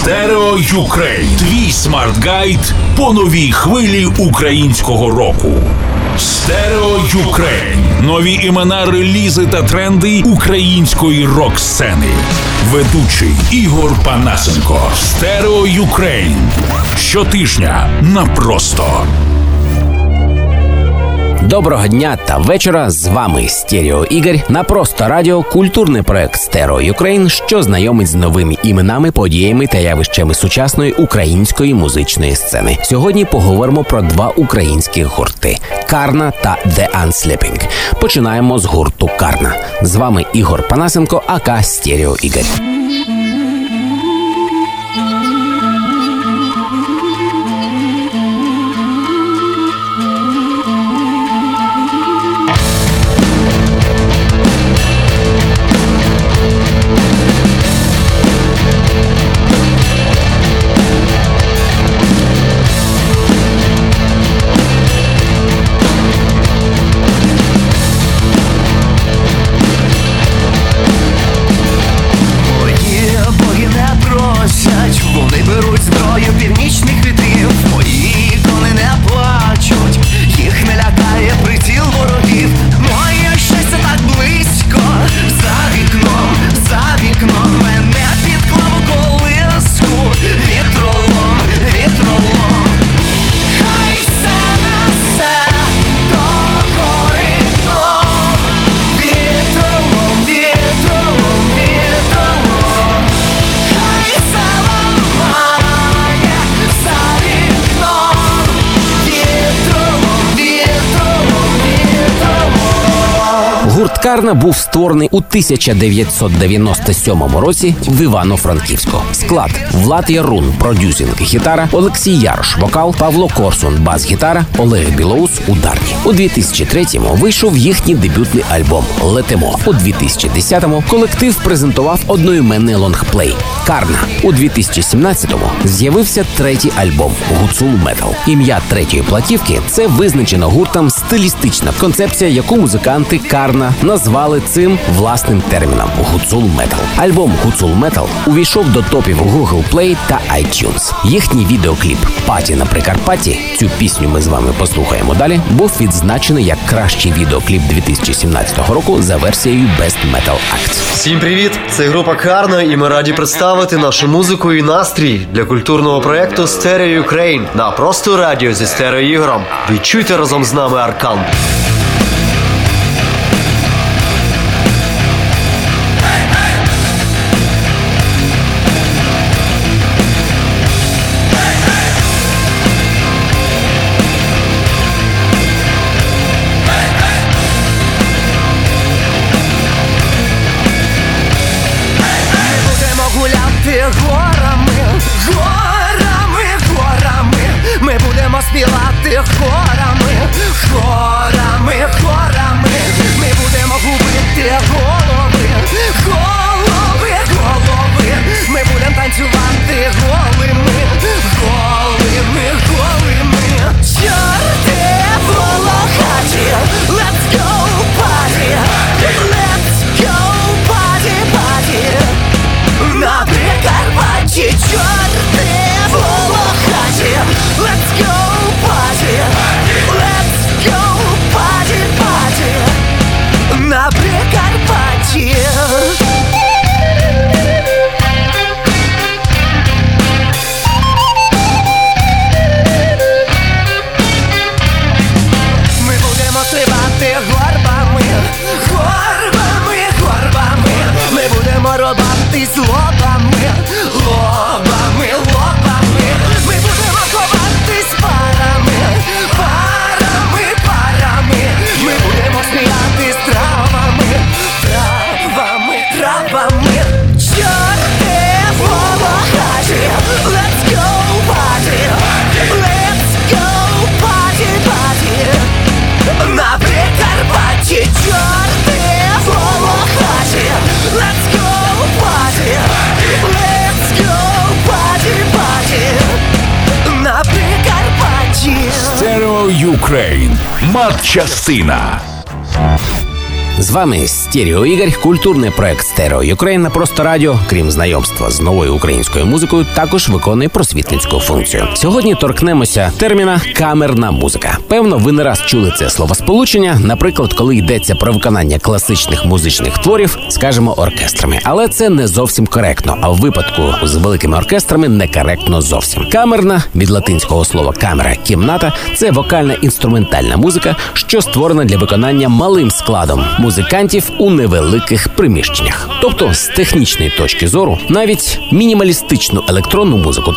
Стерео Юкрейн. Твій смарт-гайд по новій хвилі українського року. Стерео Юкрейн. Нові імена, релізи та тренди української рок-сцени. Ведучий Ігор Панасенко. Стерео Юкрейн. Щотижня на Просто. Доброго дня та вечора, з вами Стерео Ігор. На Просто Радіо – культурний проект Стерео Юкрейн, що знайомить з новими іменами, подіями та явищами сучасної української музичної сцени. Сьогодні поговоримо про два українські гурти – Карна та The Unsleeping. Починаємо з гурту Карна. З вами Ігор Панасенко, ака Стерео Ігор. Гурт Карна був створений у 1997 році в Івано-Франківську. Склад: Влад Ярун – продюсинг, гітара, Олексій Ярош – вокал, Павло Корсун – бас-гітара, Олег Білоус – ударні. У 2003-му вийшов їхній дебютний альбом «Летимо». У 2010-му колектив презентував одноіменний лонгплей «Карна». У 2017-му з'явився третій альбом «Гуцул Метал». Ім'я третьої платівки – це визначено гуртом стилістична концепція, яку музиканти Карна назвали цим власним терміном – «Гуцул Метал». Альбом «Гуцул Метал» увійшов до топів Google Play та iTunes. Їхній відеокліп «Паті на Прикарпатті», цю пісню ми з вами послухаємо далі, був відзначений як кращий відеокліп 2017 року за версією Best Metal Act. Всім привіт! Це група Карна, і ми раді представити нашу музику і настрій для культурного проєкту Стерео Юкрейн на Просто Радіо зі Стерео Ігорем. Відчуйте разом з нами аркан. Ми будемо співати хорами, хорами, хорами. Ми будемо губити голови, голови, голови. Ми будемо танцювати голими, голими, голими. Чорти волохаті, let's go party, let's go party, party. На Прикарпатті чорти волохаті, let's go party, let's go party, party. На Прикарпатті. Ми будемо стрибати горбами, горбами, горбами. Ми будемо рубатись лобами, лобами, лобами. Ми будемо ховатись парами, парами, парами. Ми будемо сміятись травами, травами, травами. Чорти волохаті, let's go party, let's go party, party. На Прикарпатті чорти волохаті, let's go party, let's go party, party. На Прикарпатті. Стерео Юкрейн. Матчастина. З вами Стерео Ігор, культурний проект Стерео Юкрейн на Просто Радіо, крім знайомства з новою українською музикою, також виконує просвітницьку функцію. Сьогодні торкнемося терміна «камерна музика». Певно, ви не раз чули це словосполучення, наприклад, коли йдеться про виконання класичних музичних творів, скажімо, оркестрами. Але це не зовсім коректно, а в випадку з великими оркестрами некоректно зовсім. Камерна, від латинського слова «камера» – кімната, це вокально-інструментальна музика, що створена для виконання малим складом музикантів у невеликих приміщеннях. Тобто, з технічної точки зору, навіть мінімалістичну електронну музику,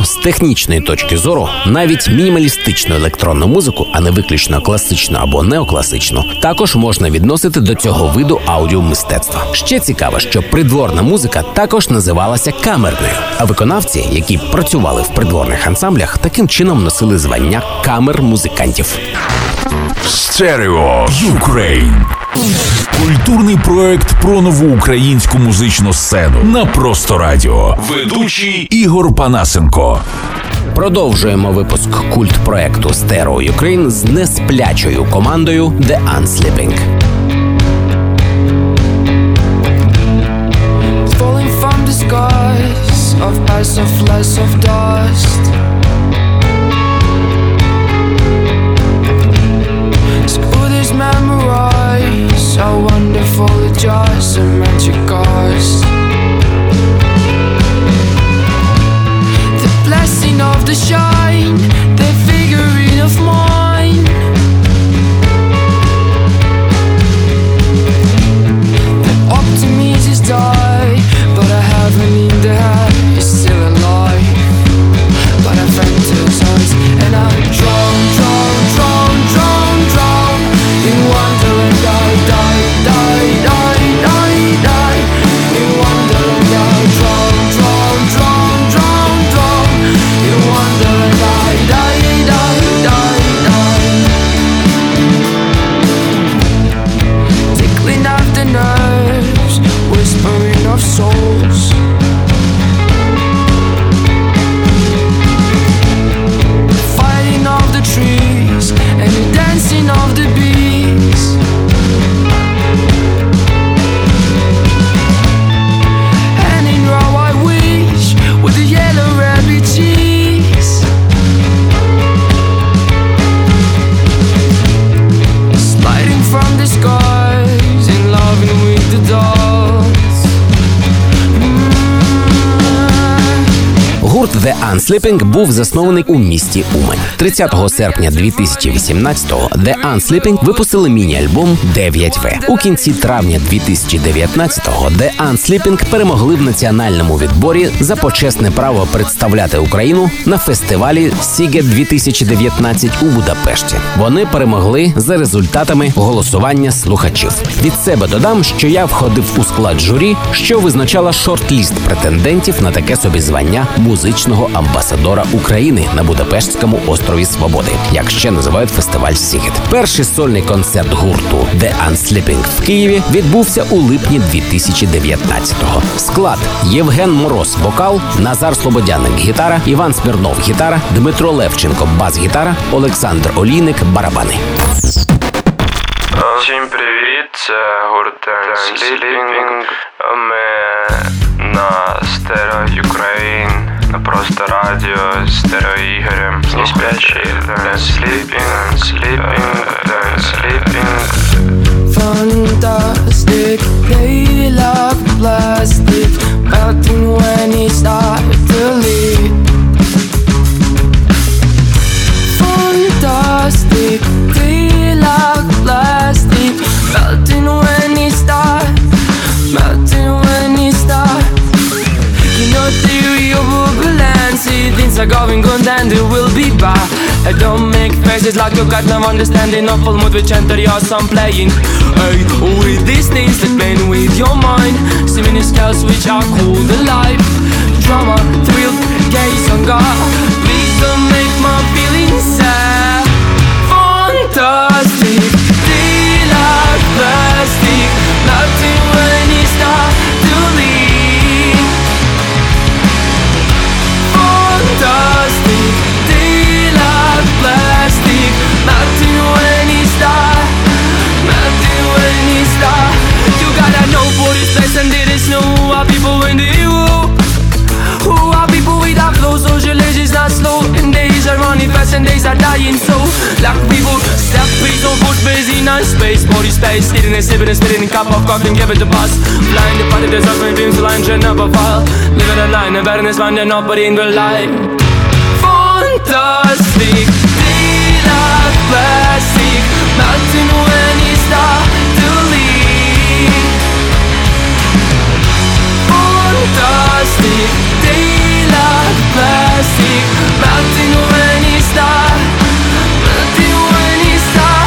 а не виключно класичну або неокласичну, також можна відносити до цього виду аудіомистецтва. Ще цікаво, що придворна музика також називалася камерною, а виконавці, які працювали в придворних ансамблях, таким чином носили звання камер-музикантів. Стерео Юкрейн. Культурний проект про нову українську музичну сцену на Просто Радіо. Ведучий Ігор Панасенко. Продовжуємо випуск культпроекту Стерео Юкрейн з несплячою командою The Unsleeping. Falling from the skies of ice, of lights, of dust. School is memorized, how wonderful it just a magic cost. The blessing of the shine, the figurine of mine. The optimism is died, but I haven't in the head, it's still alive. But I fantasize and I drown in wonderland. I die in wonderland. I drown in wonderland. I die. Tickling of the nerves, whispering of souls. Fighting of the trees and the dancing of the bees. And in raw I wish with the yellow rabbit cheese. Sliding from the skies in loving with the dolls. Гурт The Unsleeping був заснований у місті Умань. 30 серпня 2018-го The Unsleeping випустили міні-альбом 9В. У кінці травня 2019-го The Unsleeping перемогли в національному відборі за почесне право представляти Україну на фестивалі Сігет 2019 у Будапешті. Вони перемогли за результатами голосування слухачів. Від себе додам, що я входив у склад журі, що визначала шорт-ліст претендентів на таке собі звання музичного амбасадора України на Будапештському острові Свободи, як ще називають фестиваль Сігет. Перший сольний концерт гурту The Unsleeping в Києві відбувся у липні 2019-го. Склад: Євген Мороз – вокал, Назар Слободяник – гітара, Іван Смірнов – гітара, Дмитро Левченко – бас-гітара, Олександр Олійник – барабани. Всім привіт, це гурт Unsleeping. Ми на Стерео Юкрейн, на Просто Радіо з Стерео Ігорем. Не спячий, Unsleeping. Fantastic, they like plastic, melting when he started to leave. Fantastic, they like plastic, melting when he started. You know theory of buoyancy, things are going good and it will be bad. I don't make faces like you got no understanding of full mood which enter your song playing. Hey, with these things that playing with your mind, singing scales which are cool alive. Drama, thrill, gaze on God, please don't make my feelings sad. Fantastic, they like plastic, melting when you start to leave. Fantastic, they like plastic, melting when you start, melting when you start. the space, eating and sipping and spitting a cup of coffee and give it the buzz. Flying the party, there's us, my dreams, the line should never fall. Living a line, and better than man, you're nobody in real life. Fantastic, deal of plastic, melting when you start to leave. Fantastic, deal of plastic, melting when you start, melting when you start.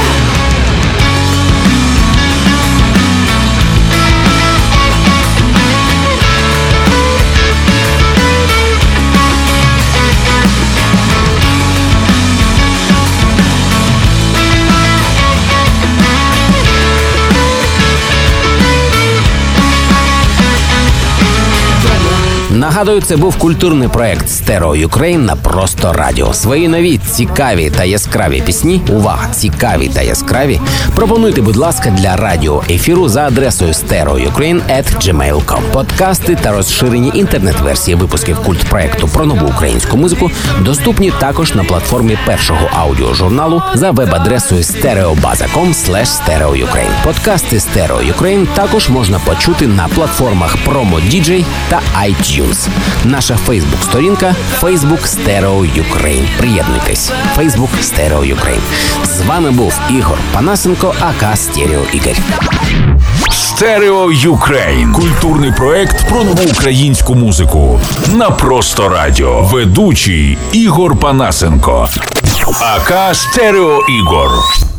Нагадую, це був культурний проект Stereo Ukraine на Просто Радіо. Свої нові, цікаві та яскраві пісні, увага, цікаві та яскраві, пропонуйте, будь ласка, для радіоефіру за адресою stereoukraine@gmail.com. Подкасти та розширені інтернет-версії випусків культпроекту про нову українську музику доступні також на платформі першого аудіожурналу за веб-адресою stereobaza.com/stereoukraine. Подкасти Stereo Ukraine також можна почути на платформах Promo DJ та iTunes. Наша Фейсбук-сторінка Facebook Stereo Ukraine. Приєднуйтесь. Facebook Stereo Ukraine. З вами був Ігор Панасенко, АК Стерео Ігор. Stereo Ukraine. Культурний проект про нову українську музику. На Просто Радіо. Ведучий Ігор Панасенко. АК Стерео Ігор.